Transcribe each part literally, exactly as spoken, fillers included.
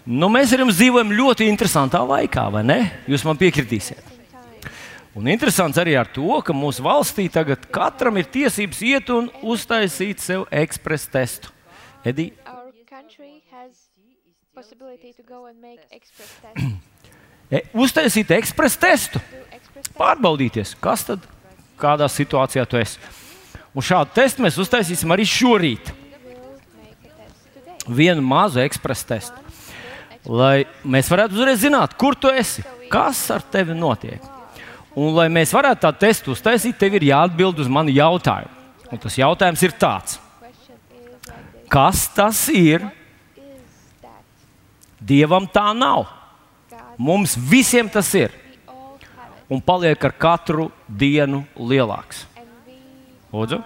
Nu, mēs ar jums dzīvojam ļoti interesantā laikā, vai ne? Jūs man piekritīsiet. Un interesants arī ar to, ka mūsu valstī tagad katram ir tiesības iet un uztaisīt sev ekspresa testu. Edi? E, uztaisīt ekspresa testu. Pārbaudīties, kas tad, kādā situācijā tu esi. Un šādu testu mēs uztaisīsim arī šorīt. Vienu mazu ekspresa testu. Lai mēs varētu uzreiz zināt, kur tu esi, kas ar tevi notiek. Un, lai mēs varētu tādu testu uztaisīt, tev ir jāatbild uz manu jautājumu. Un tas jautājums ir tāds. Kas tas ir? Dievam tā nav. Mums visiem tas ir. Un paliek ar katru dienu lielāks. Lūdzu?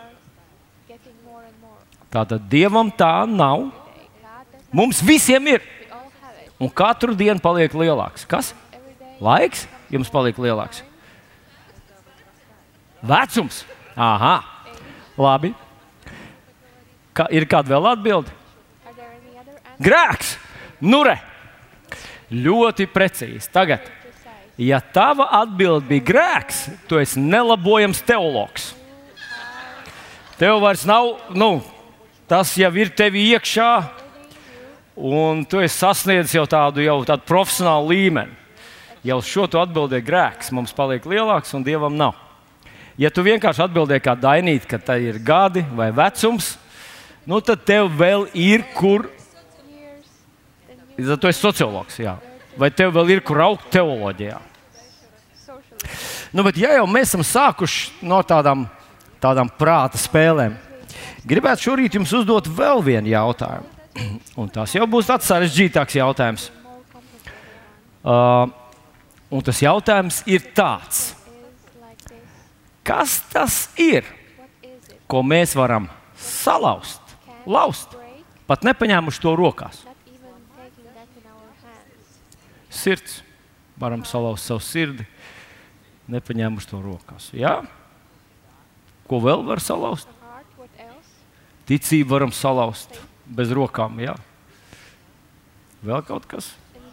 Tātad Dievam tā nav. Mums visiem ir. Un katru dienu paliek lielāks. Kas? Laiks jums paliek lielāks. Vecums. Aha. Labi. Kā, ir kāda vēl atbilde? Grēks. Nu re. Ļoti precīzi. Tagad, ja tava atbilde bija grēks, tu esi nelabojams teologs. Tev vairs nav, nu, tas jau ir tevi iekšā, un tu esi sasniedzis jau tādu, jau tādu profesionālu līmeni. Jau šo tu atbildēji grēks, mums paliek lielāks un Dievam nav. Ja tu vienkārši atbildēji kā Dainīt, ka tā ir gadi vai vecums, nu tad tev vēl ir kur, tu esi sociologs, jā. Vai tev vēl ir kur augt teoloģijā. Nu, bet ja jau mēs esam sākuši no tādām, tādām prāta spēlēm, gribētu šorīt jums uzdot vēl vienu jautājumu. Un tas jau būs tāds sarežģītāks jautājums. Uh, un tas jautājums ir tāds. Kas tas ir, ko mēs varam salauzt, lauzt, pat nepaņēmuši to rokās? Sirds. Varam salauzt savu sirdi, nepaņēmuši to rokās. Jā? Ko vēl var salauzt? Ticību varam salauzt bez rokām, jā. Vēl kaut kas?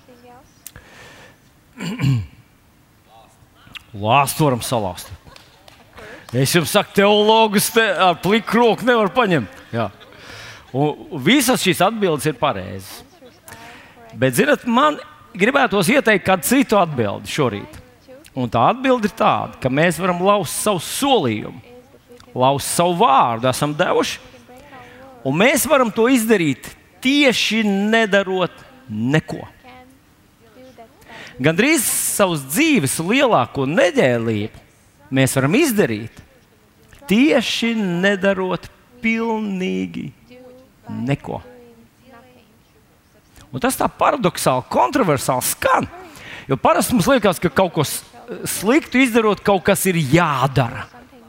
Lāstu varam salauzt. Es jums saku, teologus te ar pliku roku nevar paņemt. Jā. Un visas šīs atbildes ir pareizas. Bet, zināt, man gribētos ieteikt kādu citu atbildi šorīt. Un tā atbilde ir tāda, ka mēs varam lauzt savu solījumu, lauzt savu vārdu, esam devuši, un mēs varam to izdarīt tieši nedarot neko. Gandrīz savas dzīves lielāko neģēlību mēs varam izdarīt tieši nedarot pilnīgi neko. Un tas tā paradoxāli, kontroversāli skan. Jo parasti mums liekas, ka kaut ko sliktu izdarot, kaut kas ir jādara.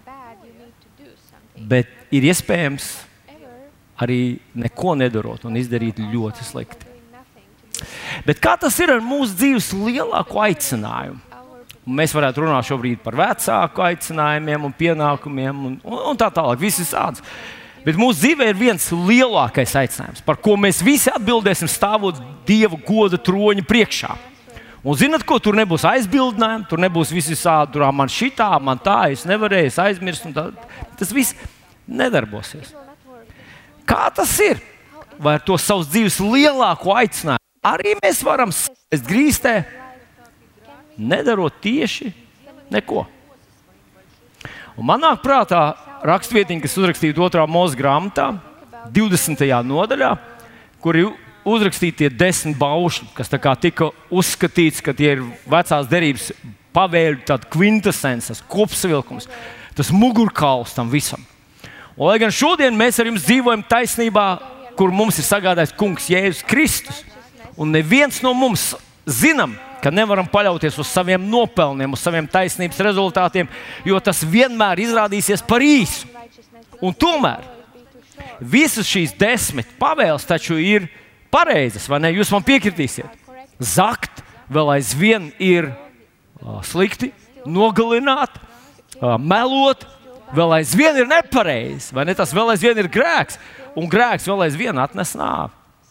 Bet ir iespējams arī neko nedarot un izdarīt ļoti slikti. Bet kā tas ir ar mūsu dzīves lielāko aicinājumu? Mēs varētu runāt šobrīd par vecāku aicinājumiem un pienākumiem un, un, un tā tālāk, visas tādas. Bet mūsu dzīvē ir viens lielākais aicinājums, par ko mēs visi atbildēsim stāvot Dieva goda troņa priekšā. Un zināt, ko tur nebūs aizbildinājumi, tur nebūs visi sādi, tur man šitā, man tā, es nevarēju, es aizmirstu. Un tā, tas viss nedarbosies. Kā tas ir? Vai ar to savas dzīves lielāko aicinājumu arī mēs varam sēst grīstē, nedarot tieši neko? Un man nāk prātā rakstvietiņa, kas uzrakstīta otrā Mūzes grāmatā, divdesmitajā nodaļā, kur ir uzrakstīti tie desmit baušļi, kas tā kā tika uzskatīts, ka tie ir vecās derības pavēļu, tāda kvintesence, kopsavilkums, tas mugurkauls tam visam. Un, lai gan šodien mēs ar jums dzīvojam taisnībā, kur mums ir sagādājis Kungs Jēzus Kristus, un neviens no mums zinām, ka nevaram paļauties uz saviem nopelniem, uz saviem taisnības rezultātiem, jo tas vienmēr izrādīsies par īsu. Un tomēr visas šīs desmit pavēles taču ir pareizas, vai ne? Jūs man piekritīsiet. Zakt vēl aizvien ir uh, slikti, nogalināt, uh, melot, vēl aizvien ir nepareizi, vai ne? Tas vēl aizvien ir grēks, un grēks vēl aizvien atnes nāvi.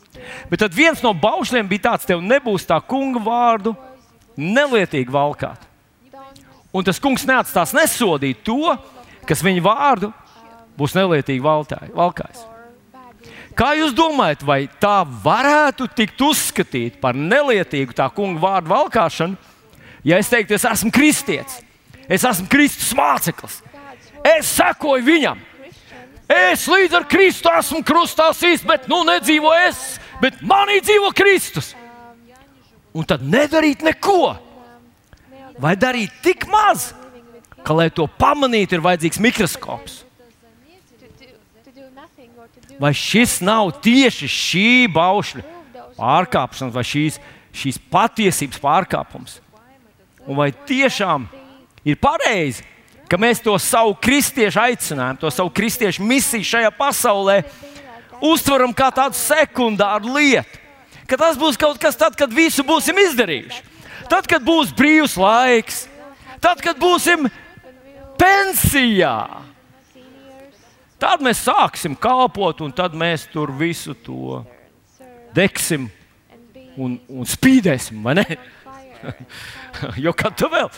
Bet tad viens no baušļiem bija tāds, tev nebūs tā kunga vārdu nelietīgi valkāt. Un tas kungs neatstās nesodīt to, kas viņa vārdu būs nelietīgi valkājis. Kā jūs domājat, vai tā varētu tikt uzskatīt par nelietīgu tā kunga vārdu valkāšanu, ja es teiktu, es esmu kristietis, es esmu Kristus māceklis, es sekoju viņam, es līdz ar Kristu esmu krustā sīst, bet nu nedzīvo es, bet manī dzīvo Kristus. Un tad nedarīt neko, vai darīt tik maz, ka, lai to pamanītu, ir vajadzīgs mikroskops. Vai šis nav tieši šī baušļa pārkāpšanas vai šīs, šīs patiesības pārkāpums? Un vai tiešām ir pareizi, ka mēs to savu kristiešu aicinājumu, to savu kristiešu misiju šajā pasaulē uztveram kā tādu sekundāru lietu? Ka tas būs kaut kas tad, kad visu būsim izdarījuši. Tad, kad būs brīvs laiks, tad, kad būsim pensijā. Tad mēs sāksim kalpot, un tad mēs tur visu to degsim un, un spīdēsim, vai ne? Jo kā tu vēl?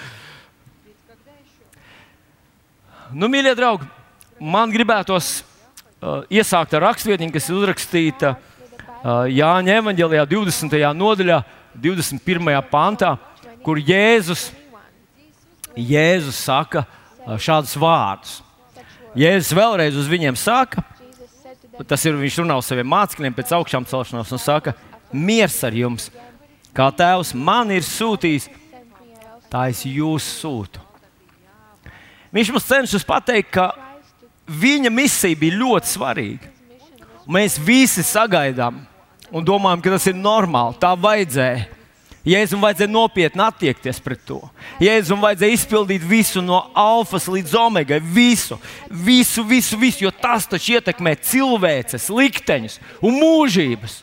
Nu, mīļie draugi, man gribētos uh, iesākt ar rakstvietiņu, kas ir uzrakstīta uh, Jāņa evaņģēlijā divdesmitajā nodaļā, divdesmit pirmajā pantā, kur Jēzus, Jēzus saka uh, šādus vārdus. Jēzus vēlreiz uz viņiem saka, tas ir, viņš runā uz saviem mācekļiem pēc augšām celšanās un saka, miers ar jums, kā Tēvs man ir sūtījis, tā es jūs sūtu. Viņš mums cenšas pateikt, ka viņa misija bija ļoti svarīga. Mēs visi sagaidām un domājam, ka tas ir normāli, tā vajadzēja. Jēzum vajadzēja nopietni attiekties pret to. Jēzum vajadzēja izpildīt visu no alfas līdz omegai, visu, visu, visu, visu, jo tas taču ietekmē cilvēces, likteņus un mūžības.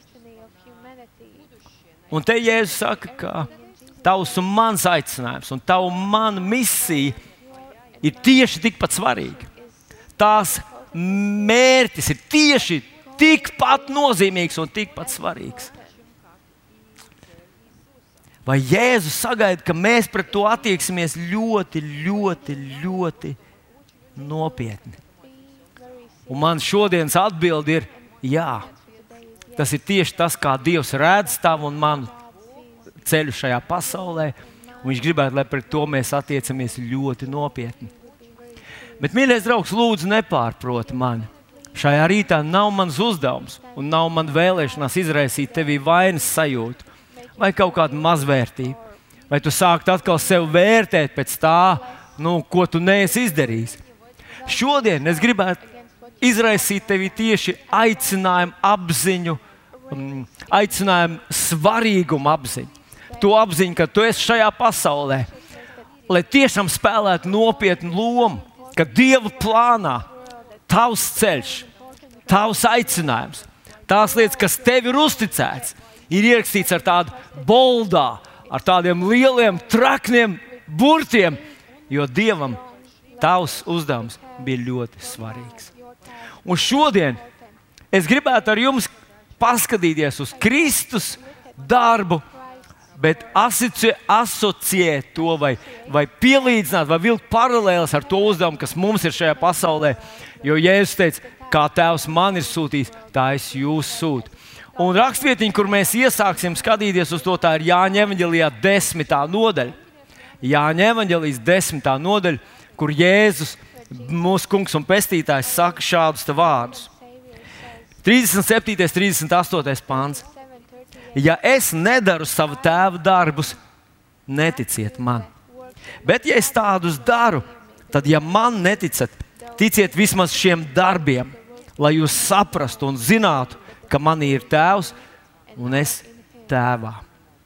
Un te Jēzus saka, ka tavs un mans aicinājums un tavu mana misija ir tieši tikpat svarīga. Tās mērķis ir tieši tikpat nozīmīgs un tikpat svarīgs. Vai Jēzus sagaida, ka mēs pret to attieksimies ļoti, ļoti, ļoti nopietni? Un man šodienas atbilde ir jā. Tas ir tieši tas, kā Dievs redz tavu un manu ceļu šajā pasaulē. Un viņš gribētu, lai pret to mēs attiecamies ļoti nopietni. Bet, mīļais draugs, lūdzu, nepārproti mani. Šajā rītā nav mans uzdevums un nav man vēlēšanās izraisīt tevī vainas sajūtu. Vai kaut kāda mazvērtība, vai tu sāktu atkal sevi vērtēt pēc tā, nu, ko tu neesi izdarījis. Šodien es gribētu izraisīt tevi tieši aicinājumu apziņu, aicinājumu svarīgumu apziņu. To apziņu, ka tu esi šajā pasaulē, lai tiešām spēlētu nopietnu lomu, ka Dieva plānā tavs ceļš, tavs aicinājums, tās lietas, kas tev ir uzticēts, ir ierakstīts ar tādu boldā, ar tādiem lieliem, trakniem burtiem, jo Dievam tavs uzdevums bija ļoti svarīgs. Un šodien es gribētu ar jums paskatīties uz Kristus darbu, bet asociēt to vai, vai pielīdzināt, vai vilkt paralēles ar to uzdevumu, kas mums ir šajā pasaulē. Jo Jēzus teica, kā Tēvs man ir sūtījis, tā es jūs sūtu. Un rakstvietiņa, kur mēs iesāksim skatīties uz to, tā ir Jāņa evaņģēlijā desmitā nodaļa. Jāņa evaņģēlijas desmitā nodaļa, kur Jēzus, mūsu kungs un pestītājs, saka šādus te vārdus. trīsdesmit septītais, trīsdesmit astotais pāns. Ja es nedaru savu tēva darbus, neticiet man. Bet ja es tādus daru, tad ja man neticat, ticiet vismaz šiem darbiem, lai jūs saprastu un zinātu, ka manī ir tēvs un es tēvā.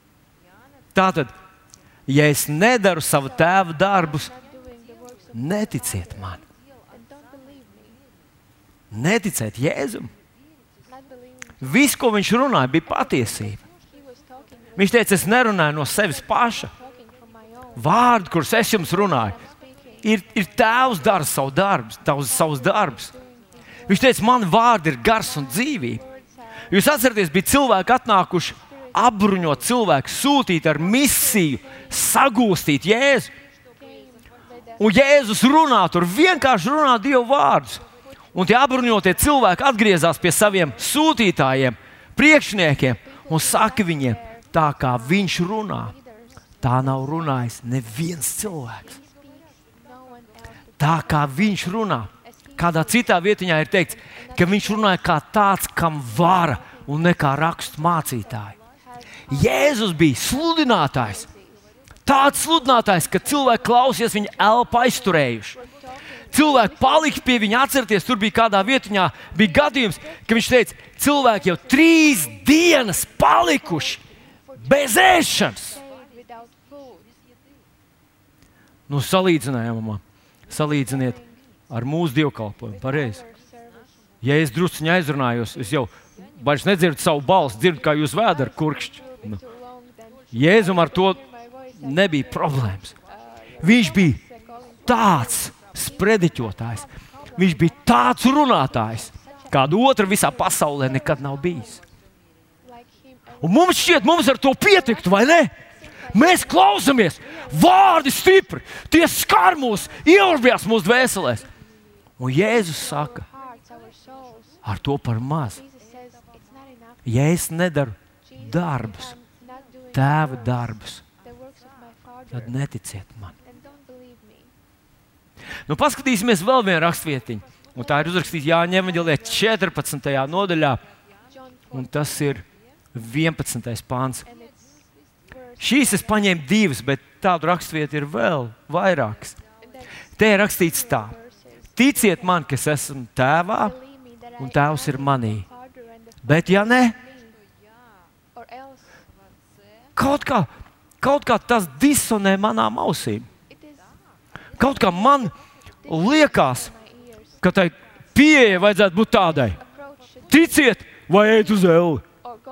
Tātad, ja es nedaru savu tēva darbus, neticiet man. Neticiet Jēzum. Viss, ko viņš runāja, bija patiesība. Viņš teica, es nerunāju no sevis paša. Vārdi, kurus es jums runāju, ir, ir tēvs dara savu darbus, tavs, savus darbus. Viņš teica, man vārdi ir gars un dzīvība. Jūs atceraties, bija cilvēki atnākuši apbruņot cilvēku, sūtīt ar misiju, sagūstīt Jēzu. Un Jēzus runā, tur vienkārši runā Dievu vārdus. Un tie apbruņotie cilvēki atgriezās pie saviem sūtītājiem, priekšniekiem un saka viņiem, tā kā viņš runā, tā nav runājis neviens cilvēks. Tā kā viņš runā. Kādā citā vietiņā ir teikts, ka viņš runāja kā tāds, kam vara un ne kā rakstu mācītāji. Jēzus bija sludinātājs. Tāds sludinātājs, ka cilvēki klausies viņa elpu aizturējuši. Cilvēki palika pie viņa, atcerieties, tur bija kādā vietiņā, bija gadījums, ka viņš teica, cilvēki jau trīs dienas palikuši bez ēšanas. Nu, salīdzinājumā, salīdziniet ar mūsu dievkalpojumu, pareizi. Ja es drusciņi aizrunājos, es jau vairs nedzirdu savu balsi, dzirdu, kā jūs vēdara kurkšķi. Nu, Jēzum ar to nebija problēmas. Viņš bija tāds sprediķotājs, viņš bija tāds runātājs, kādu otru visā pasaulē nekad nav bijis. Un mums šķiet, mums ar to pietiktu, vai ne? Mēs klausamies, vārdi stipri, tie skar mūs, ieurбjās mūsu dvēselēs. Un Jēzus saka, ar to par maz. Ja es nedaru darbus, Tēva darbus, tad neticiet man. Nu, paskatīsimies vēl vienu rakstvietiņu. Un tā ir uzrakstīta Jāņa evaņģēlijā četrpadsmitajā nodaļā, un tas ir vienpadsmitais pāns. Šīs es paņēmu divas, bet tādu rakstvietu ir vēl vairākas. Te ir rakstīts tā: ticiet man, ka es esmu Tēvā, un Tēvs ir manī. Bet ja ne, kaut kā, kaut kā tas disonē manām ausīm. Kaut kā man liekas, ka tai pieeja vajadzētu būt tādai: ticiet vai ejiet uz elli.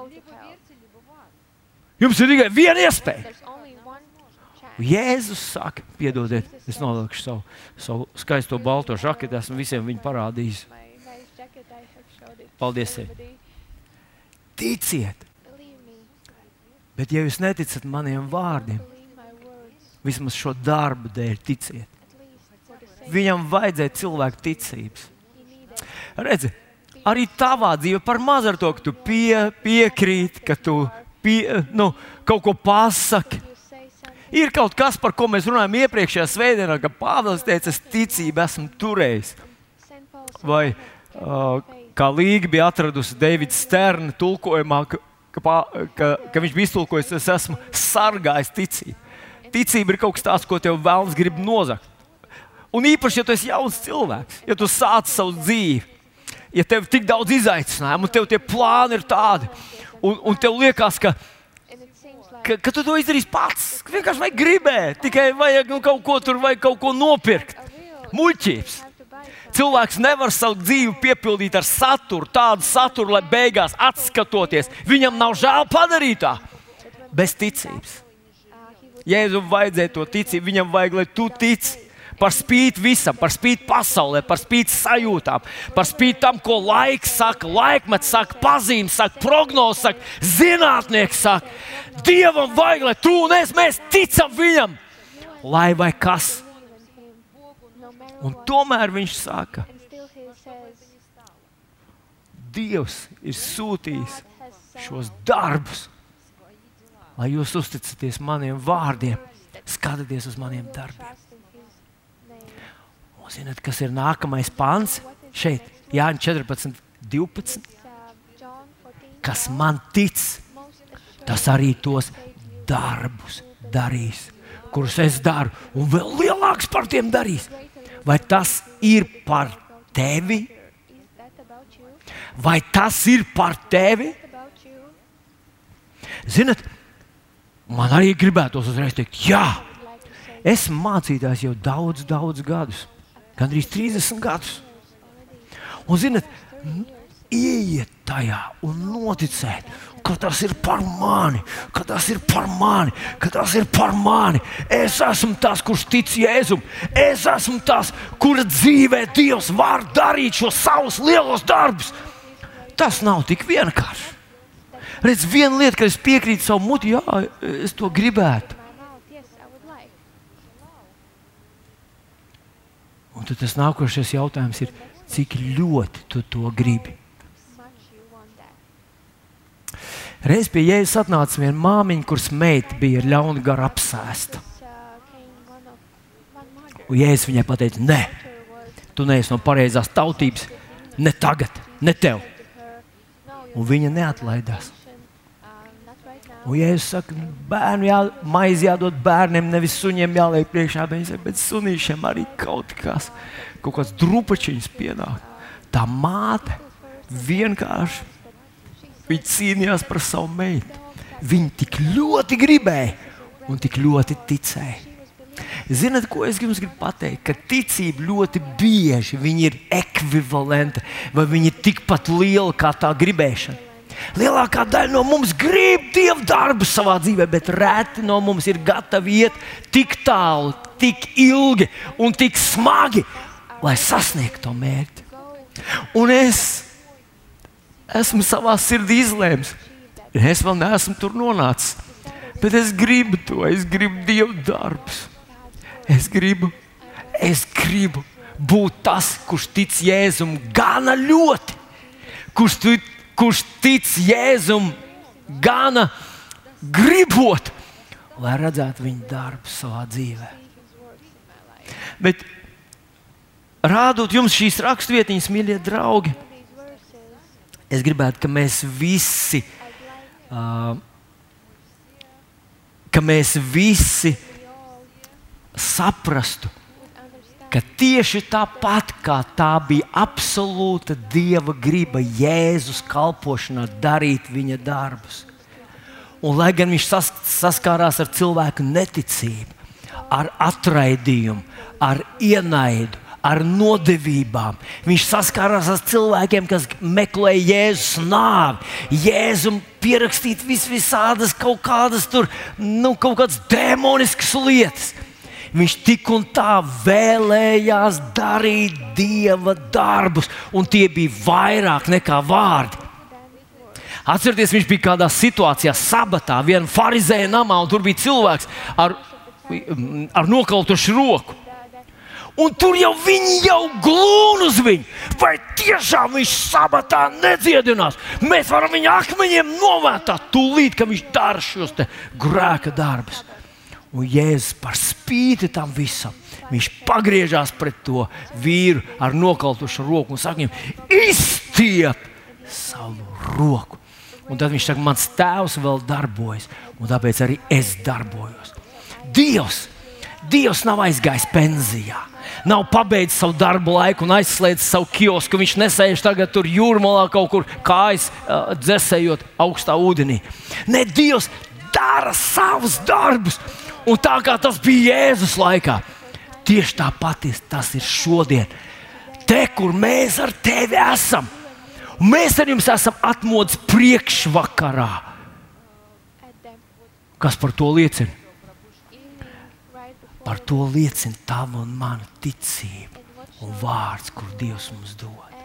Jums ir tikai viena iespēja. Jēzus saka, piedodiet, es nolikšu savu, savu skaisto balto žaketi, esmu visiem viņu parādījis. Paldies tev. Ticiet. Bet ja jūs neticat maniem vārdiem, vismaz šo darbu dēļ ticiet. Viņam vajadzēja cilvēku ticības. Redzi, arī tavā dzīve par maz ar to, ka tu pie, piekrīti, ka tu pie, nu, kaut ko pasaki. Ir kaut kas, par ko mēs runājam iepriekšējā svētdienā, ka Pāvils teica, es ticību esmu turējis. Vai uh, kā Līga bija atradusi Davida Sterna tulkojumā, ka, ka, ka, ka viņš bija iztulkojis, es esmu sargājis ticību. Ticība ir kaut kas tāds, ko tev vēlams grib nozagt. Un īpaši, ja tu esi jauns cilvēks, ja tu sāc savu dzīvi, ja tev ir tik daudz izaicinājumu, un tev tie plāni ir tādi, un, un tev liekas, ka, ka, ka tu to izdarīsi pats, ka vienkārši vajag gribēt, tikai vajag nu, kaut ko tur, vajag kaut ko nopirkt. Muļķības. Cilvēks nevar savu dzīvi piepildīt ar saturu, tādu saturu, lai beigās atskatoties, viņam nav žēl padarītā, bez ticības. Jēzum vajadzēja to ticību, viņam vajag, lai tu tici. Par spīti visam, par spīti pasaulē, par spīti sajūtām, par spīti tam, ko laiks saka, laikmets saka, pazīmes saka, prognozes saka, zinātnieks saka. Dievam vajag, lai tu un es, mēs ticam viņam, lai vai kas. Un tomēr viņš saka, Dievs ir sūtījis šos darbus, lai jūs uzticaties maniem vārdiem, skatieties uz maniem darbiem. Un zināt, kas ir nākamais pāns? Šeit, Jāņa četrpadsmit, divpadsmit. Kas man tic, tas arī tos darbus darīs, kurus es daru, un vēl lielāks par tiem darīs. Vai tas ir par tevi? Vai tas ir par tevi? Zināt, man arī gribētos uzreiz teikt, jā, esmu mācītājs jau daudz, daudz gadus. Gandrīz trīsdesmit gadus. Un, zināt, ieiet tajā un noticēt, ka tas ir par mani, ka tas ir par mani, ka tas ir par mani. Es esmu tas, kurš tic Jēzum. Es esmu tas, kura dzīvē Dievs var darīt šos savus lielos darbus. tas nav tik vienkārši. Redz, viena lieta, ka es piekrītu savu muti, jā, es to gribētu. Un tad tas nākošais jautājums ir, cik ļoti tu to gribi. Reiz pie Jēzus atnāca viena māmiņa, kuras meita bija ar ļaunu garu apsēsta. Un Jēzus viņai pateica, nē, tu neesi no pareizās tautības, ne tagad, ne tev. Un viņa neatlaidās. Un Jēzus saka, bērnu jā, maizi jādod bērniem, nevis suņiem jāliek priekšā. Viņa saka, bet sunīšiem arī kaut kas, kaut kāds drupačiņas pienāk. Tā māte vienkārši, viņa cīnījās par savu meitu. Viņa tik ļoti gribēja un tik ļoti ticēja. Zināt, ko es jums gribu pateikt? Ka ticība ļoti bieži viņa ir ekvivalenta vai viņa ir tikpat liela kā tā gribēšana. Lielākā daļa no mums grib Dieva darbu savā dzīvē, bet reti no mums ir gatavi iet tik tālu, tik ilgi un tik smagi, lai sasniegtu to mērķi. Un es esmu savā sirdī izlēmis. Es vēl neesmu tur nonācis, bet es gribu to, es gribu Dieva darbus. Es gribu, es gribu būt tas, kurš tic Jēzum gana ļoti, kurš, tu, kurš tic Jēzum gana gribot, lai redzētu viņa darbu savā dzīvē. Bet rādot jums šīs raksturvietiņas, mīļie draugi, es gribētu, ka mēs visi, uh, ka mēs visi saprastu, ka tieši tāpat kā tā bija absolūta Dieva griba Jēzus kalpošanā darīt viņa darbus. Un lai gan viņš sas, saskārās ar cilvēku neticību, ar atraidījumu, ar ienaidu, ar nodevībām. Viņš saskārās ar cilvēkiem, kas meklēja Jēzus nāvi. Jēzum pierakstīt vis visādas kaut kādas tur, nu, kaut kādas demoniskas lietas. Viņš tik un tā vēlējās darīt Dieva darbus, un tie bija vairāk nekā vārdi. Atcerieties, viņš bija kādā situācijā, sabatā, vienā farizēja namā, un tur bija cilvēks ar, ar nokautušu roku. Un tur jau viņi jau glūna uz viņu. Vai tiešām viņš sabatā nedziedinās? Mēs varam viņu akmeņiem novētāt tūlīt, ka viņš dara šos te grēka darbus. Un Jēzus par spīti tam visam, viņš pagriežās pret to vīru ar nokautušu roku un saka viņam, izstiep savu roku. Un tad viņš saka, mans tēvs vēl darbojas, un tāpēc arī es darbojos. Dievs, Dievs nav aizgājis pensijā. Nav pabeidzis savu darbu laiku un aizslēdzis savu kiosku. Viņš nesēž tagad tur jūrmalā kaut kur kājas uh, dzesējot augstā ūdenī. Ne, Dievs dara savus darbus. Un tā kā tas bija Jēzus laikā, tieši tāpat tas ir šodien. Te, kur mēs ar tevi esam. Un mēs ar jums esam atmodas priekšvakarā. Kas par to liecina? Par to liecina tava un mana ticība un vārds, kur Dievs mums dod.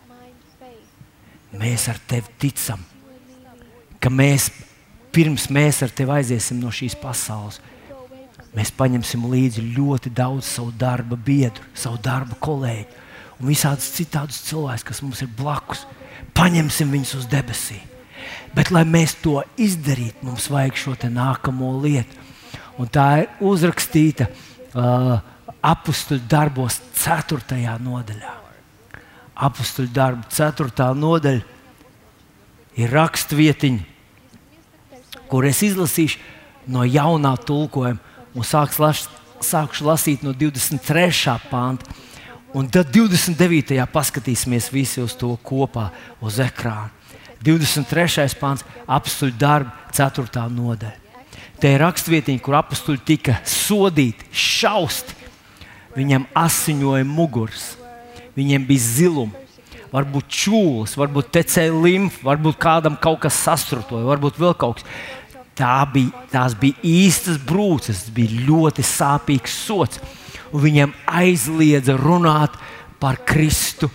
Mēs ar tevi ticam, ka mēs, pirms mēs ar tevi aiziesim no šīs pasaules, mēs paņemsim līdzi ļoti daudz savu darba biedru, savu darba kolēģi un visādus citādus cilvēkus, kas mums ir blakus. Paņemsim viņus uz debesīm. Bet, lai mēs to izdarītu, mums vajag šo te nākamo lietu. Un tā ir uzrakstīta uh, Apostuļu darbos ceturtajā nodaļā. Apostuļu darbu ceturtā nodaļa ir rakstvietiņa, kur es izlasīšu no jaunā tulkojuma un sākšu, las, sākšu lasīt no divdesmit trešā panta. Un tad divdesmit devītajā paskatīsimies visi uz to kopā uz ekrāna. divdesmit trešais pants, Apostuļu darbu ceturtā nodaļa. Te ir rakstvietiņa, kur apostuļi tika sodīti, šausti. Viņiem asiņoja muguras, viņiem bija zilumi, varbūt čūlas, varbūt tecēja limfa, varbūt kādam kaut kas sastrutoja, varbūt vēl kaut kas. Tā bija, tās bija īstas brūces, tas bija ļoti sāpīgs sods. Un viņiem aizliedza runāt par Kristu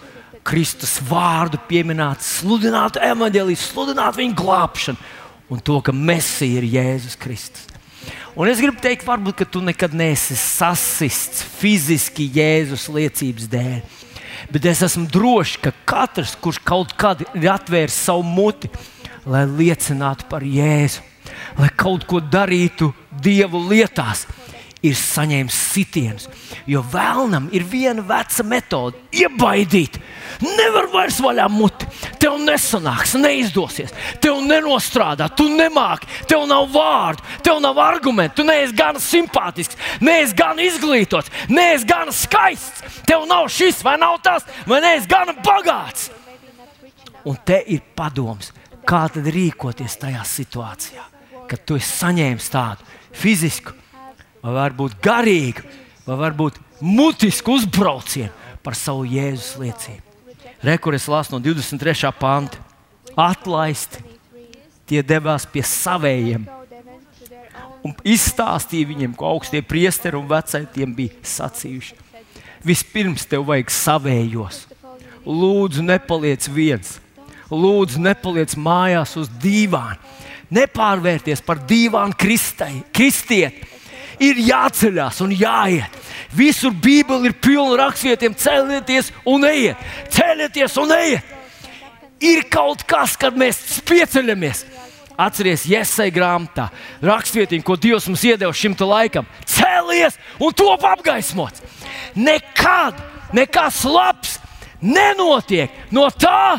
Kristus vārdu pieminētu, sludinātu evaņģēliju, sludinātu viņa glābšanu un to, ka Mesija ir Jēzus Kristus. Un es gribu teikt, varbūt, ka tu nekad neesi sasists fiziski Jēzus liecības dēļ. Bet es esmu drošs, ka katrs, kurš kaut kad ir atvēris savu muti, lai liecinātu par Jēzu, lai kaut ko darītu Dievu lietās, ir saņēmis sitienus. Jo vēlnam ir viena veca metode - iebaidīt. Nevar vairs vaļā muti. Tev nesanāks, neizdosies. Tev nenostrādā, tu nemāki, tev nav vārdu, tev nav argumentu, tu neesi gan simpātisks, neesi gan izglītots, neesi gan skaists. Tev nav šis vai nav tas, vai neesi gan bagāts. Un te ir padoms, kā tad rīkoties tajā situācijā, kad tu esi saņēmis tādu fizisku, vai varbūt garīgu, vai varbūt mutisku uzbraucienu par savu Jēzus liecību. Re, kur es lasu no divdesmit trešā panta. Atlaisti tie devās pie savējiem un izstāstīja viņiem, ko augstie priesteri un vecai tiem bija sacījuši. Vispirms tev vajag savējos. Lūdzu, nepaliec viens. Lūdzu, nepaliec mājās uz dīvāna. Nepārvērties par dīvānu kristieti. Ir jāceļās un jāiet. Visur Bībele ir pilna rakstvietiem. Celieties un ejiet. Celieties un ejiet. Ir kaut kas, kad mēs pieceļamies. Atceries Jesai grāmatā rakstvietiņu, ko Dievs mums iedeva šim te laikam. Cēlies un top apgaismots. Nekad nekas labs nenotiek no tā,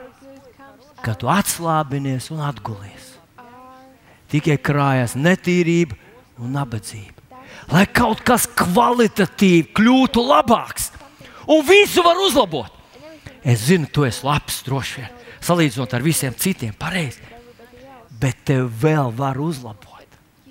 ka tu atslābinies un atgulies. Tikai krājās netīrība un nabadzība. Lai kaut kas kvalitatīvi kļūtu labāks un visu var uzlabot. Es zinu, tu esi labs, droši vien, salīdzinot ar visiem citiem, pareizi. Bet tev vēl var uzlabot.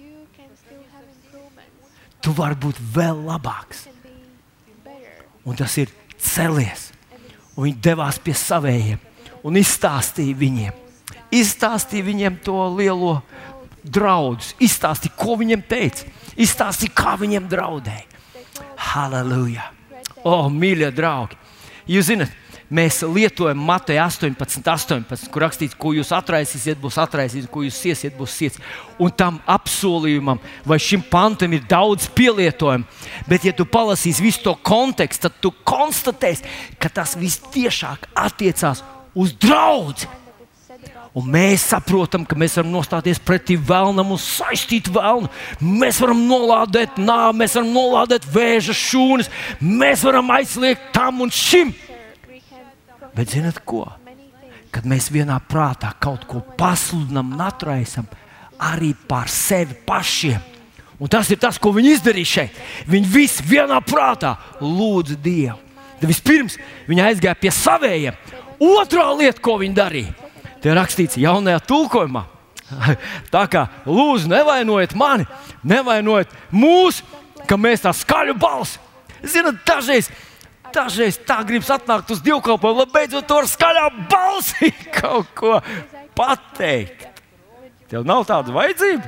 Tu vari būt vēl labāks. Un tas ir celies. Un viņi devās pie savējiem un izstāstīja viņiem. Izstāstīja viņiem to lielo draudus, izstāstīja, ko viņiem teica, izstāstīja, kā viņiem draudēja. Halleluja! O, mīļie draugi! Jūs zināt, mēs lietojam Mateja astoņpadsmit, astoņpadsmit, kur rakstīts, ko jūs atraisīsiet, būs atraisīts, ko jūs siesiet, būs siets. Un tam apsolījumam vai šim pantam ir daudz pielietojumu. Bet, ja tu palasīsi visu to kontekstu, tad tu konstatēsi, ka tas vistiešāk attiecās uz draudzi. Un mēs saprotam, ka mēs varam nostāties pretī vēlnam un saistīt vēlnu. Mēs varam nolādēt nāvi, mēs varam nolādēt vēža šūnas, mēs varam aizliegt tam un šim. Bet zināt ko? Kad mēs vienā prātā kaut ko pasludinām un atraisam arī pār sevi pašiem. Un tas ir tas, ko viņi izdarīja šeit. Viņi visi vienā prātā lūdza Dievu. Tad vispirms viņi aizgāja pie savējiem. Otrā lieta, ko viņi darīja, te ir rakstīts jaunajā tulkojumā. Tā kā lūdzu, nevainojiet mani, nevainojiet mūs, ka mēs tā skaļu balsi. Zināt, dažreiz, dažreiz tā gribas atnākt uz dievkalpojumu, lai beidzot to ar skaļā balsi kaut ko pateikt. Tev nav tāda vajadzība?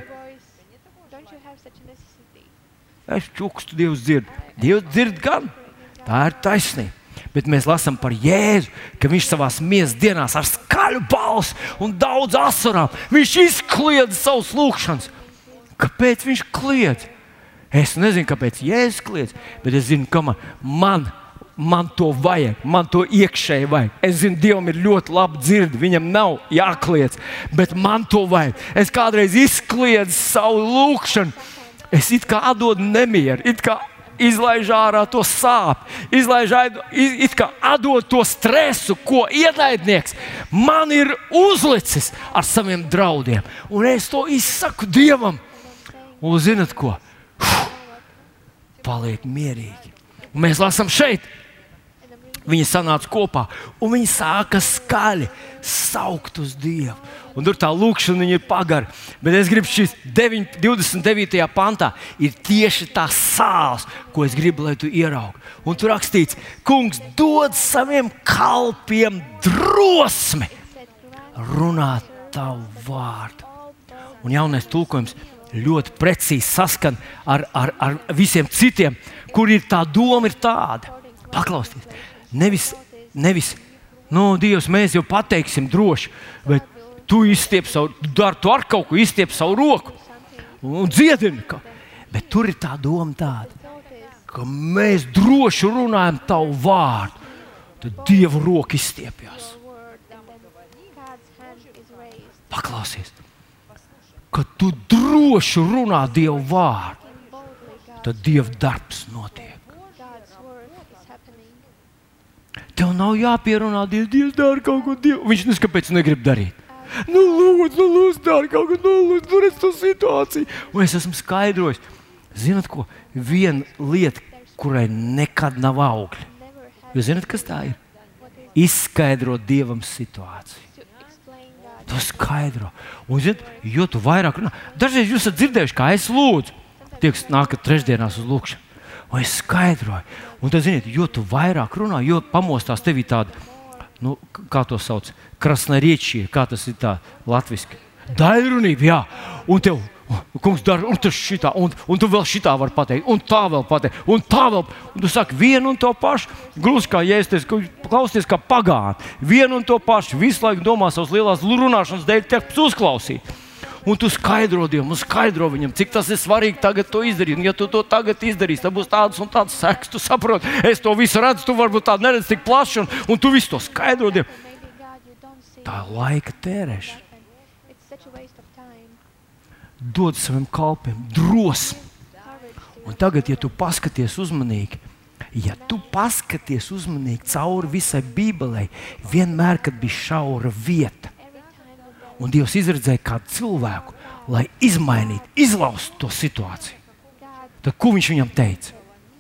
Es čukstu, Dievs dzird. Dievs dzird gan. Tā ir taisnība. Bet mēs lasām par Jēzu, ka viņš savās miesas dienās ar skaļu balsi un daudz asarām. Viņš izkliedza savus lūgšanas. Kāpēc viņš kliedz? Es nezinu, kāpēc Jēzus kliedz, bet es zinu, ka man, man, man to vajag, man to iekšēji vajag. Es zinu, Dievam ir ļoti labi dzirdi, viņam nav jākliedz, bet man to vajag. Es kādreiz izkliedzu savu lūgšanu, es it kā atdodu nemieru, it kā izlaiž ārā to sāpju, izlaiž it kā atdod to stresu, ko ienaidnieks man ir uzlicis ar saviem draudiem. Un es to izsaku Dievam. Un zinat ko? Uf, paliek mierīgi. Un mēs lasām šeit. Viņi sanāca kopā un viņi sāka skaļi saukt uz Dievu. Un tur tā lūkšana ir pagara. Bet es gribu šīs divdesmit devītajā pantā ir tieši tā sāls, ko es gribu, lai tu ieraugi. Un tur rakstīts, kungs dod saviem kalpiem drosmi runāt tavu vārdu. Un jaunais tulkojums ļoti precīzi saskan ar, ar, ar visiem citiem, kur ir tā doma ir tāda. Paklausieties, nevis, nevis nu, Dievs, mēs jau pateiksim droši, bet tu izstiep savu, dar, tu ar kaut ko izstiep savu roku un dziedini. Ka. Bet tur ir tā doma tāda, ka mēs droši runājam tavu vārdu, tad Dieva roka izstiepjās. Paklausies, kad tu droši runā Dievu vārdu, tad Dieva darbs notiek. Tev nav jāpierunā Dievs, Dievs dara kaut ko Dievu. Viņš nes kāpēc negrib darīt. Nu, lūdzu, nu, lūdzu, dara kaut ko, nu, lūdzu, tur es to situāciju. Un es esmu skaidrojis. Zinat ko? Viena lieta, kurai nekad nav augļi. Jūs zinat, kas tā ir? Izskaidrot Dievam situāciju. Tu skaidro. Un, zinat, jo tu vairāk runā. Dažreiz jūs esat dzirdējuši, kā es lūdzu. Tie, kas nākat trešdienās uz lūkšanu. Un es skaidroju. Un tad, ziniet, jo tu vairāk runā, jo pamostās tevī tāda, nu, kā to sauc, krasnariečie, kā tas ir tā latviski. Daļrunība, jā. Un tev, kungs, dara, un tas šitā, un, un tu vēl šitā var pateikt, un tā vēl pateikt, un tā vēl. Un tu saki vienu un to pašu, gluži kā jēsties, klausties kā pagāni. Vienu un to pašu, visu laiku domā savas lielās runāšanas dēļ, tiek uzklausīt. Un tu skaidro Dievam, un skaidro viņam, cik tas ir svarīgi tagad to izdarīt. Un ja tu to tagad izdarīsi, tad būs tādas un tādas sekas. Tu saproti, es to visu redzu, tu varbūt tādu neredzi tik plaši, un, un tu visu to skaidro Dievam. Tā ir laika tērēšana. Dod saviem kalpiem drosmi. Un tagad, ja tu paskaties uzmanīgi, ja tu paskaties uzmanīgi cauri visai Bībelei, vienmēr, kad bija šaura vieta, un Dievs izredzēja kādu cilvēku, lai izmainītu, izlaustu to situāciju. Tad ko viņš viņam teica?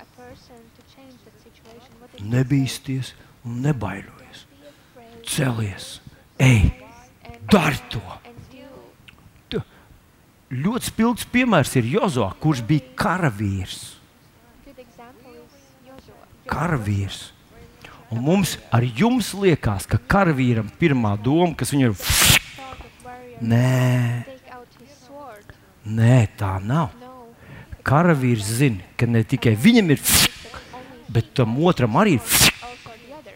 Nebīsties un nebaidojies. Celies, ej, dari to. Tu, ļoti spilgts piemērs ir Jozuā, kurš bija karavīrs. Karavīrs. Un mums ar jums liekas, ka karavīram pirmā doma, kas viņam ir Nē, Nē, tā nav. Karavīrs zina, ka ne tikai viņam ir, bet tam otram arī ir.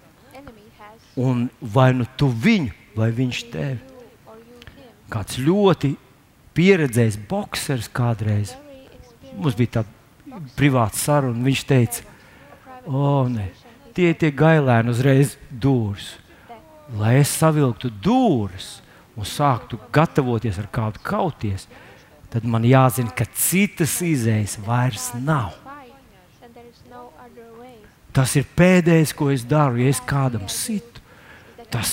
Un vai nu tu viņu, vai viņš tevi. Kāds ļoti pieredzējis boksers kādreiz. Mums bija tāda privāta saruna, viņš teica, o, ne, tie tie gailēni uzreiz dūris. Lai es savilktu dūris un sāktu gatavoties ar kādu kauties, tad man jāzina, ka citas izējas vairs nav. Tas ir pēdējais, ko es daru, ja es kādam situ. Tas,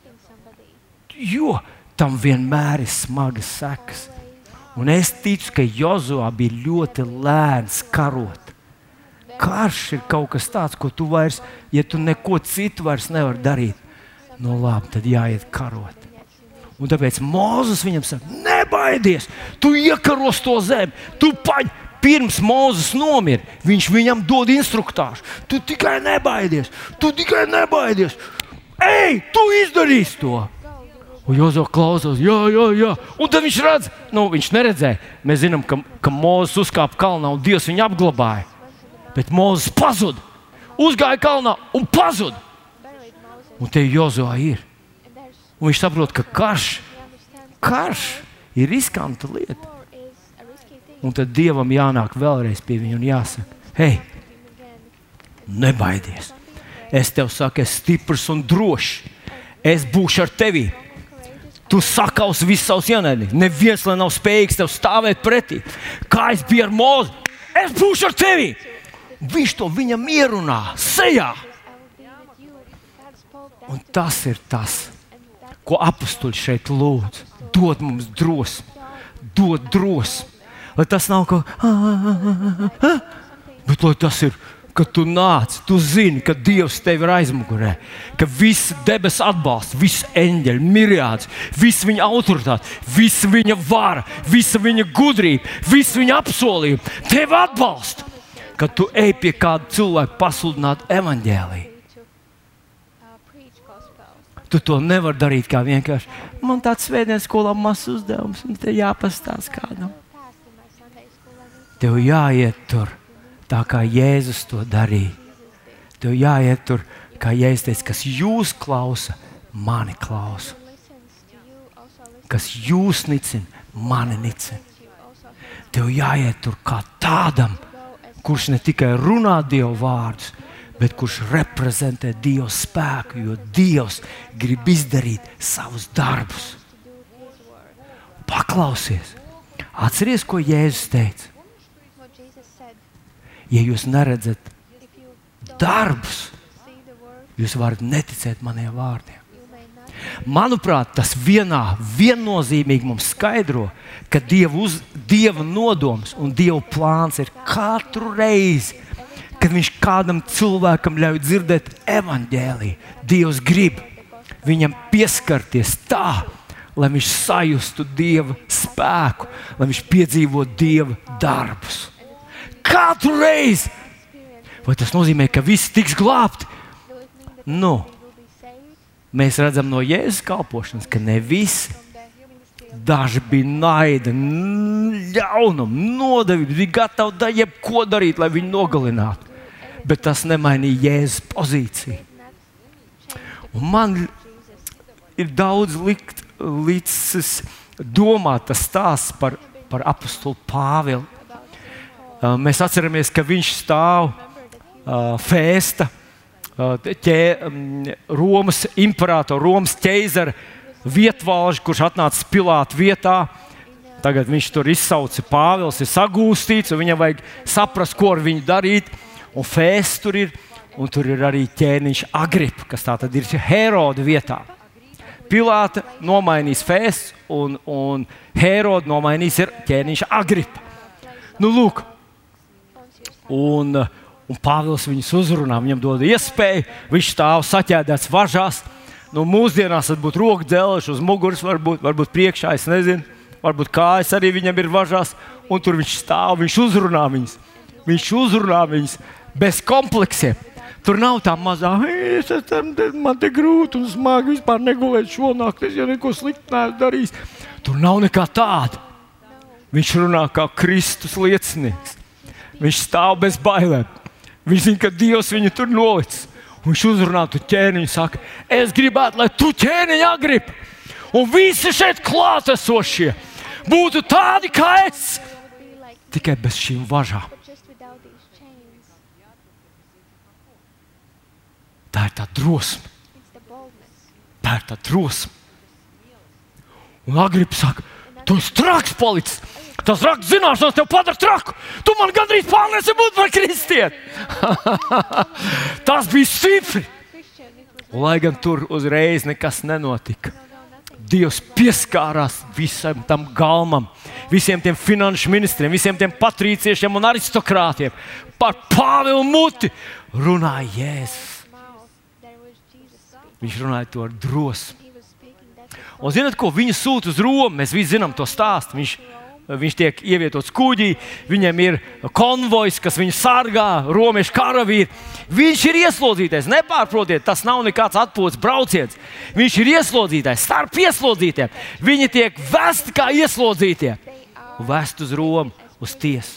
jo tam vienmēr ir smagas sekas. Un es ticu, ka Jozuā bija ļoti lēns karot. Karš ir kaut kas tāds, ko tu vairs, ja tu neko citu vairs nevar darīt, no labi, tad jāiet karot. Un tāpēc Mūzes viņam saka, nebaidies, tu iekaros to zemi, tu paņ, pirms Mūzes nomira, viņš viņam dod instruktāžu, tu tikai nebaidies, tu tikai nebaidies, ej, tu izdarīsi to. Un Jozo klausās, jā, jā, jā, un tad viņš redz, nu viņš neredzēja, mēs zinām, ka, ka Mūzes uzkāpa kalnā un Dievs viņu apglabāja, bet Mūzes pazuda, uzgāja kalnā un pazuda. Un te Jozo ir. Un viņš saprot, ka karš, karš ir riskanta lieta. Un tad Dievam jānāk vēlreiz pie viņa un jāsaka, hei, nebaidies. Es tev saku, es stiprs un drošs. Es būšu ar tevi. Tu sakausi visus savus ienaidniekus. Neviens lai nav spējīgs tev stāvēt pretī. Kā es biju ar Mūzi, es būšu ar tevi. Viņš to viņam ierunā sejā. Un tas ir tas, ko apustuļi šeit lūdz. Dod mums drosmi, dod drosmi. Lai tas nav kaut kā, bet lai tas ir, kad tu nāc, tu zini, ka Dievs tevi ir aizmugurē, ka visi debes atbalsta, visi eņģeļi, miriāds, visi viņa autoritāte, visi viņa vara, visa viņa gudrība, visi viņa apsolījumi tevi atbalsta, kad tu ej pie kāda cilvēka pasludināt evaņģēliju. Tu to nevar darīt kā vienkārši. Man tāds svētdienas skolā mazs uzdevums, un te jāpastāst kādam. Tev jāiet tur, tā kā Jēzus to darīja. Tev jāiet tur Kā Jēzus teica, kas jūs klausa, mani klausa. Kas jūs nicina, mani nicina. Tev jāiet tur kā tādam, kurš ne tikai runā Dieva vārdus, bet kurš reprezentē Dieva spēku, jo Dievs grib izdarīt savus darbus. Paklausies! Atceries, ko Jēzus teica? Ja jūs neredzat darbus, jūs varat neticēt maniem vārdiem. Manuprāt, tas vienā viennozīmīgi mums skaidro, ka Dieva, uz, Dieva nodoms un Dieva plāns ir katru reizi, kad Viņš kādam cilvēkam ļauj dzirdēt evaņģēliju. Dievs grib viņam pieskarties tā, lai viņš sajustu Dieva spēku, lai viņš piedzīvotu Dieva darbus. Katru reizi! Vai tas nozīmē, ka visi tiks glābti? Nu, mēs redzam no Jēzus kalpošanas, ka ne visi. Daži bija naida, ļaunuma, nodevība, bija gatavi da jebko darīt, lai viņu nogalinātu. Bet tas nemainīja Jēzus pozīciju. Un man ir daudz likt līdzis domāt tas stāsts par, par apostolu Pāvilu. Uh, mēs atceramies, ka viņš stāv uh, Fēsta, uh, ķē, um, Romas imperātora, Romas ķeizara vietvalži, kurš atnāca Pilāta vietā. Tagad viņš tur izsauca Pāvils, ir sagūstīts, un viņam vajag saprast, ko ar viņu darīt. Un Fēsts tur ir, un tur ir arī ķēniņš Agripa, kas tā tad ir Heroda vietā. Pilāta nomainīs Fēsts, un, un Heroda nomainīs ir ķēniņš Agripa. Nu, lūk, un, un Pāvils viņus uzrunā, viņam dod iespēju, viņš stāv saķēdēts važās. Nu, mūsdienās tas būtu roku dzelži uz muguras, varbūt, varbūt priekšā, es nezinu, varbūt kājas arī viņam ir važās, un tur viņš stāv, viņš uzrunā viņus. Viņš uzrunā viņus bez kompleksiem. Tur nav tā mazā, es esmu, man te grūti un smagi vispār negulēt šonakt, es jau neko sliktu neesmu darījis. Tur nav nekā tāda. Viņš runā kā Kristus liecinieks. Viņš stāv bez bailēm. Viņš zina, ka Dievs viņu tur nolicis. Viņš uzrunā tu ķēniņu, saka, es gribētu, lai tu ķēniņu Agripa un visi šeit klātesošie būtu tādi kā es, tikai bez šīm važām. Tā ir tā drosme. Tā ir tā drosme. Un Agripa saka, tu esi traks palicis. Tas raks zināšanas tev padara traku. Tu man gandrīz pārlieci būt par kristieti. Tas bija stipri. Un, lai gan tur uzreiz nekas nenotika. Dievs pieskārās visam tam galmam, visiem tiem finanšu ministriem, visiem tiem patrīciešiem un aristokrātiem. Par Pāvilu muti runāja Jēzus. Viņš runāja to ar drosmi. Un zināt, ko viņu sūta uz Romu? Mēs visi zinām to stāstu. Viņš, viņš tiek ievietots kuģī, viņam ir konvojs, kas viņu sargā, romiešu karavīri. Viņš ir ieslodzītais, nepārprotiet, tas nav nekāds atpūtas brauciens. Viņš ir ieslodzītais, starp ieslodzītiem. Viņi tiek vesti kā ieslodzītie un vest uz Romu, uz tiesu.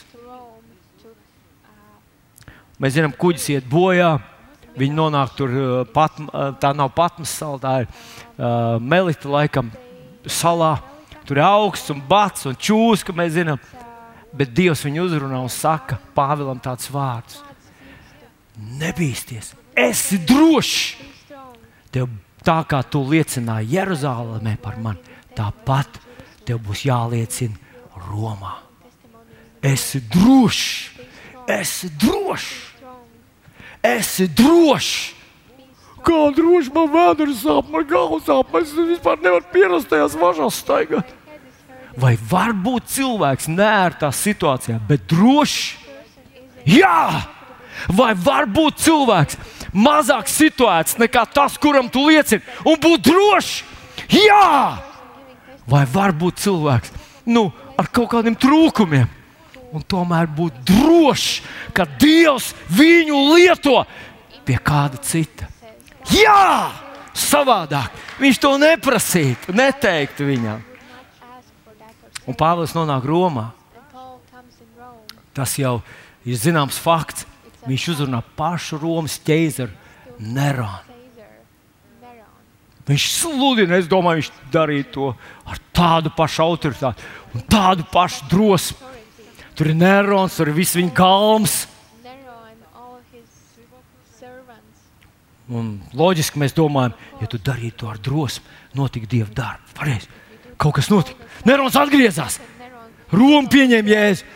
Mēs zinām, kuģis iet bojā. Viņi nonāk tur, pat, tā nav Patmas sala, tā ir uh, Melita laikam salā. Tur ir augsts un bats un čūska, mēs zinām. Bet Dievs viņu uzrunā un saka Pāvilam tāds vārds. Nebīsties, esi drošs. Tev tā kā tu liecināji Jeruzālēmē par mani, tāpat tev būs jāliecina Romā. Esi drošs, esi drošs. Esi drošs. Kā droši man vēders sāp, man galvas sāp, es vispār nevaru pierast tajās važās staigāt. Vai var būt cilvēks neērtā situācijā, bet drošs? Jā! Vai var būt cilvēks mazāk situēts nekā tas, kuram tu liecini, un būt drošs? Jā! Vai var būt cilvēks, nu, ar kaut kādiem trūkumiem? Un tomēr būt drošs, ka Dievs viņu lieto pie kāda cita. Jā! Savādāk. Viņš to neprasītu, neteiktu viņam. Un Pāvils nonāk Romā. Tas jau ir zināms fakts. Viņš uzrunā pašu Romas ķeizaru Nerons. Viņš sludina, es domāju, viņš darīja to ar tādu pašu autoritāti un tādu pašu drosmi. Tur ir Nerons, tur ir viss viņa galms. Un loģiski mēs domājam, ja tu darītu to ar drosmi, notika Dieva darbi. Pareizi. Kaut kas notika. Nerons atgriezās. Roma pieņēma Jēzu.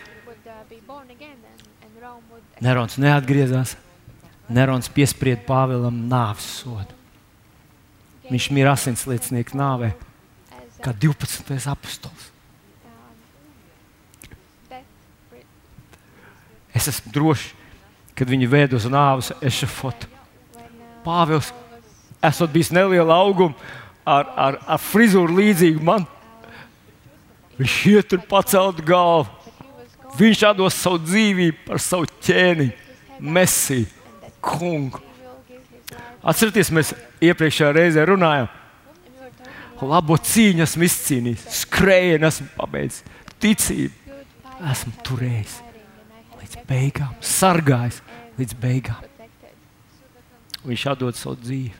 Nerons neatgriezās. Nerons piesprieda Pāvilam nāves sodu. Viņš mira asinsliecinieka nāvē, kā divpadsmitais apostols. Es esmu drošs, kad viņi vēd uz nāves ešafotu. Pāvils, esot bijis neliela auguma, ar, ar, ar frizūru līdzīgu man. Viņš iet tur pacelt galvu. Viņš atdos savu dzīvību par savu ķēniņu, Mesiju, kungu. Atcerieties, mēs iepriekšējā reizē runājām. Labo cīņu esmu izcīnījis, skrējienu esmu pabeidzis, ticību esmu turējis līdz beigām, sargājis līdz beigām. Viņš atdod savu dzīvi.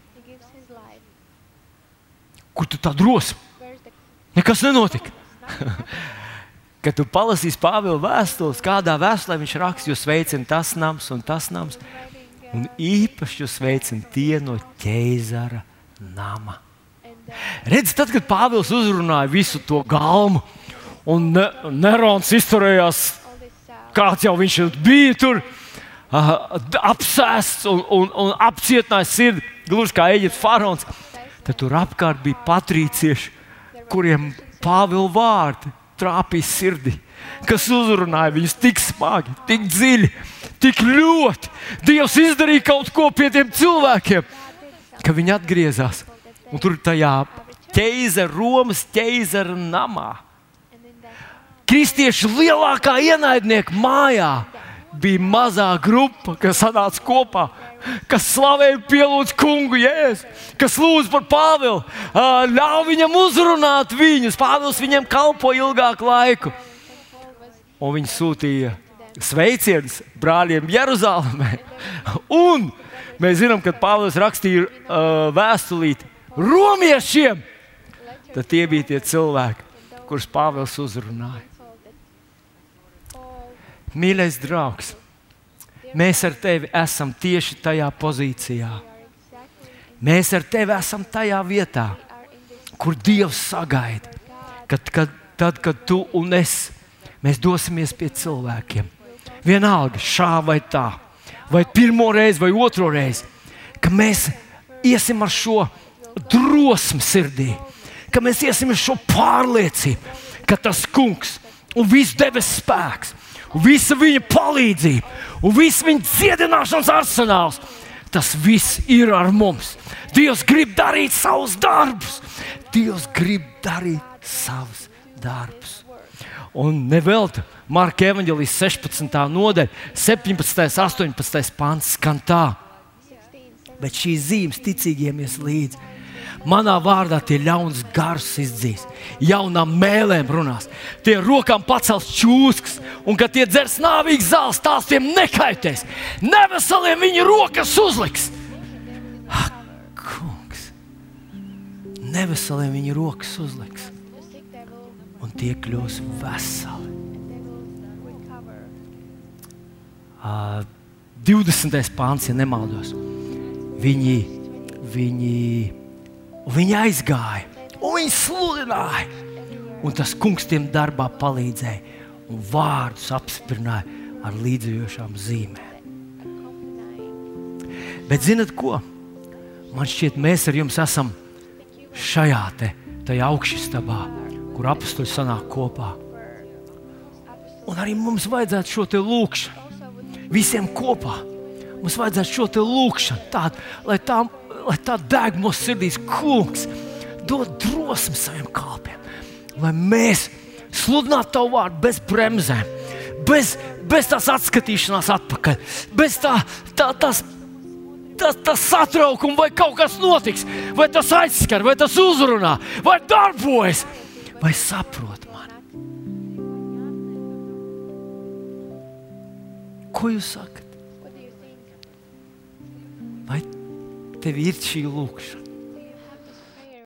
Kur tu tā drosmi? Nekas nenotika. Kad tu palasīsi Pāvila vēstules, kādā vēstulē viņš raksta, jūs veicina tas nams un tas nams, un īpaši jūs veicina tie no ķeizara nama. Redz, tad, kad Pāvils uzrunāja visu to galmu, un ne, Nerons izturējās, kāds jau viņš bija tur, uh, apsēsts un, un, un apcietinājis sirdi, gluži kā Eģiptes faraons, tad tur apkārt bija patrīcieši, kuriem Pāvila vārdi trāpīja sirdi, kas uzrunāja viņus tik smagi, tik dziļi, tik ļoti. Dievs izdarīja kaut ko pie tiem cilvēkiem, ka viņi atgriezās. Un tur tajā ķeizara, Romas ķeizara namā. Kristiešu lielākā ienaidnieka mājā bija mazā grupa, kas sanāca kopā, kas slavēja, pielūdz kungu Jēzu, kas lūdz par Pāvilu, ļauj viņam uzrunāt viņus. Pāvils viņiem kalpo ilgāku laiku. Un viņi sūtīja sveicienus brāļiem Jeruzalemē. Un mēs zinām, kad Pāvils rakstīja uh, vēstulīti romiešiem, tad tie bija tie cilvēki, kurus Pāvils uzrunāja. Mīļais draugs, mēs ar tevi esam tieši tajā pozīcijā. Mēs ar tevi esam tajā vietā, kur Dievs sagaida, kad, kad, tad, kad tu un es, mēs dosimies pie cilvēkiem. Vienalga, šā vai tā, vai pirmo reizi, vai otro reizi, ka mēs iesim ar šo drosmi sirdī, ka mēs iesim ar šo pārliecību, ka tas kungs un viss debesu spēks, un visa viņa palīdzība, un viss viņa dziedināšanas arsenāls, tas viss ir ar mums. Dievs grib darīt savus darbus. Dievs grib darīt savus darbus. Un nevelti Marka evaņģēlijas sešpadsmitā nodaļa, septiņpadsmitais, astoņpadsmitais pants skan tā. Bet šīs zīmes ticīgiem ies līdzi. Manā vārdā tie ļauns gars izdzīs, jaunām mēlēm runās, tie rokām pacels čūskas, un kad tie dzers nāvīgs zāles, tās tiem nekaitēs. Neveseliem viņi rokas uzliks. Ak, kungs, neveseliem viņi rokas uzliks, un tie kļūs veseli. Uh, divdesmitais pāns, ja nemaldos, viņi, viņi Un viņi aizgāja, un viņi sludināja. Un tas kungs tiem darbā palīdzēja un vārdus apstiprināja ar līdzējošām zīmēm. Bet zinat ko? Man šķiet, mēs ar jums esam šajā te, tajā augšstabā, kur apostoli sanāk kopā. Un arī mums vajadzētu šo te lūkšanu, visiem kopā. Mums vajadzētu šo te lūkšanu, tādu, lai tā lai tā deg mūsu sirdīs, kungs, dod drosmi saviem kalpiem, lai mēs sludinātu tavu vārdu bez bremzēm, bez, bez tās atskatīšanās atpakaļ, bez tā, tā, tās, tā, tā satraukuma, vai kaut kas notiks, vai tas aizskar, vai tas uzrunā, vai darbojas, vai saprot mani. Ko jūs sakat? Vai tev ir šī lūkšana.